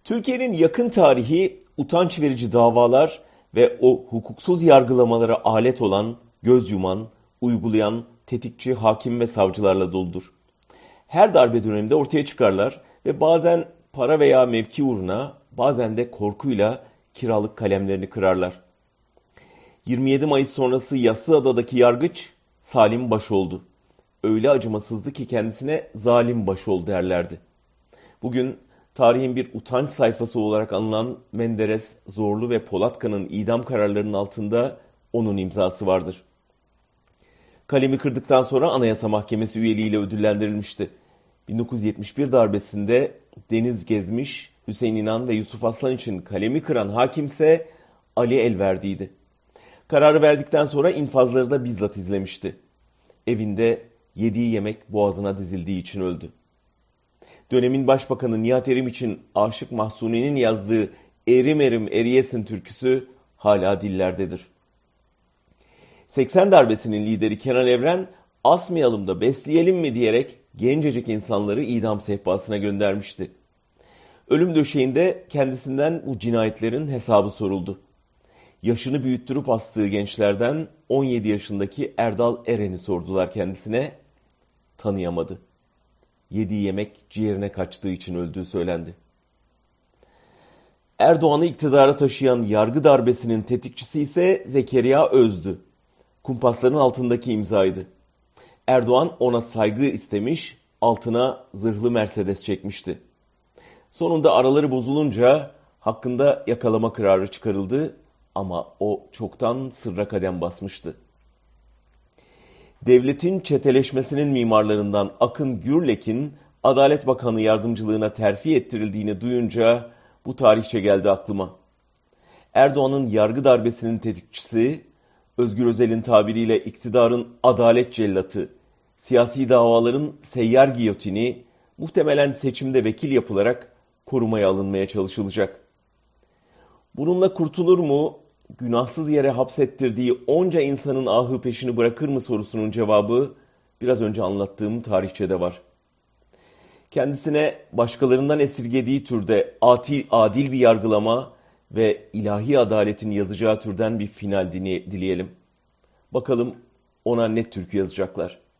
Türkiye'nin yakın tarihi utanç verici davalar ve o hukuksuz yargılamalara alet olan, göz yuman, uygulayan, tetikçi hakim ve savcılarla doludur. Her darbe döneminde ortaya çıkarlar ve bazen para veya mevki uğruna, bazen de korkuyla kiralık kalemlerini kırarlar. 27 Mayıs sonrası Yassıada'daki yargıç Salim Başoldu. Öyle acımasızdı ki kendisine zalim Başol derlerdi. Bugün tarihin bir utanç sayfası olarak anılan Menderes, Zorlu ve Polatkan'ın idam kararlarının altında onun imzası vardır. Kalemi kırdıktan sonra Anayasa Mahkemesi üyeliğiyle ödüllendirilmişti. 1971 darbesinde Deniz Gezmiş, Hüseyin İnan ve Yusuf Aslan için kalemi kıran hakimse Ali Elverdi'ydi. Kararı verdikten sonra infazları da bizzat izlemişti. Evinde yediği yemek boğazına dizildiği için öldü. Dönemin başbakanı Nihat Erim için Aşık Mahzuni'nin yazdığı Erim Erim Eriyesin türküsü hala dillerdedir. 80 darbesinin lideri Kenan Evren asmayalım da besleyelim mi diyerek gencecik insanları idam sehpasına göndermişti. Ölüm döşeğinde kendisinden bu cinayetlerin hesabı soruldu. Yaşını büyüttürüp astığı gençlerden 17 yaşındaki Erdal Eren'i sordular kendisine, tanıyamadı. Yediği yemek ciğerine kaçtığı için öldüğü söylendi. Erdoğan'ı iktidara taşıyan yargı darbesinin tetikçisi ise Zekeriya Öz'dü. Kumpasların altındaki imzaydı. Erdoğan ona saygı istemiş, altına zırhlı Mercedes çekmişti. Sonunda araları bozulunca hakkında yakalama kararı çıkarıldı ama o çoktan sırra kadem basmıştı. Devletin çeteleşmesinin mimarlarından Akın Gürlek'in Adalet Bakanı yardımcılığına terfi ettirildiğini duyunca bu tarihçe geldi aklıma. Erdoğan'ın yargı darbesinin tetikçisi, Özgür Özel'in tabiriyle iktidarın adalet cellatı, siyasi davaların seyyar giyotini muhtemelen seçimde vekil yapılarak korumaya alınmaya çalışılacak. Bununla kurtulur mu? Günahsız yere hapsettirdiği onca insanın ahı peşini bırakır mı sorusunun cevabı biraz önce anlattığım tarihçede var. Kendisine başkalarından esirgediği türde adil bir yargılama ve ilahi adaletin yazacağı türden bir final dileyelim. Bakalım ona ne türkü yazacaklar.